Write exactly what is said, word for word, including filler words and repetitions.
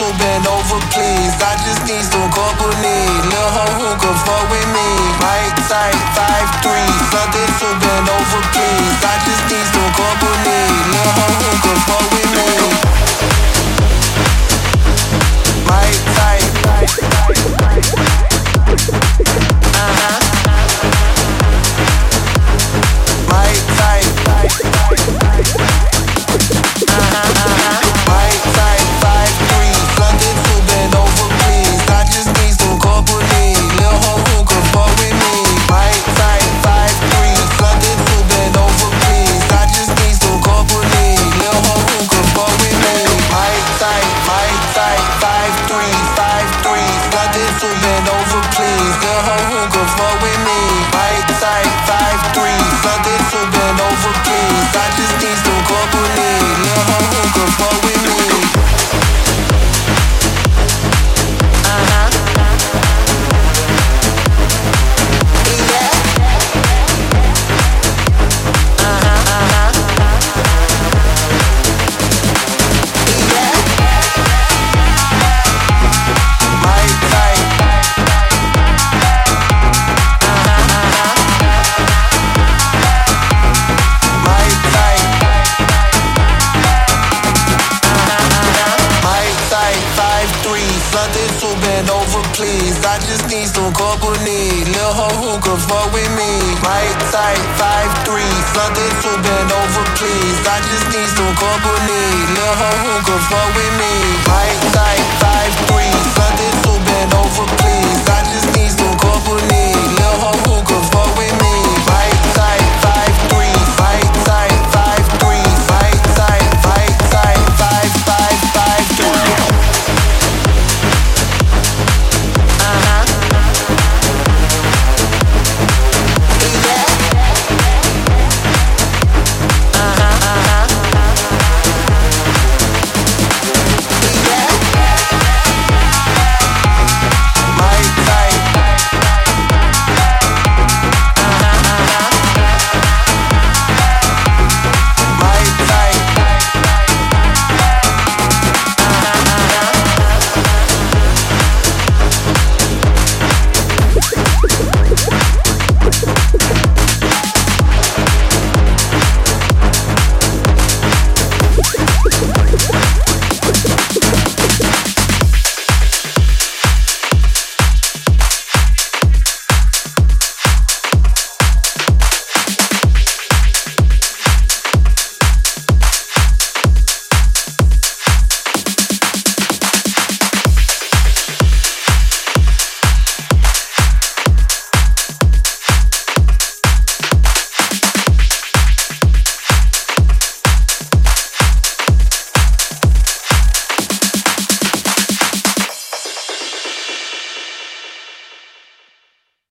bend over, please. I just need some company. Lil' hoe who can fuck with me. Mic tight, five three, something to bend over, please. I just need some company. Lil' hoe who can fuck with me. Mic tight. Uh-huh. Mic tight. Uh-huh, uh-huh. Mic tight, five three, something to bend over, please. I just need some company. Lil' hoe who can fuck with me. Mic tight, five three, something to bend over, please. I just need some company. Lil' hoe who can fuck with me. Mic tight, mic tight, five three, five three, something to bend over, please. Lil' hoe who can fuck with me. Mic tight, five three, something to bend over, please. I just need some company. Lil' hoe who can fuck with me. Uh-huh. Yeah. Uh-huh, uh-huh. Yeah. Mic tight. Uh-huh, uh-huh. Mic tight. Mic tight, five three, something to bend over, please. I just need some company. Lil' hoe who can fuck with me. Mic tight, five three, something to bend over, please. I just need some company. Lil' hoe who can fuck with me. Mic tight, five three, something to bend over, please. I just need some company.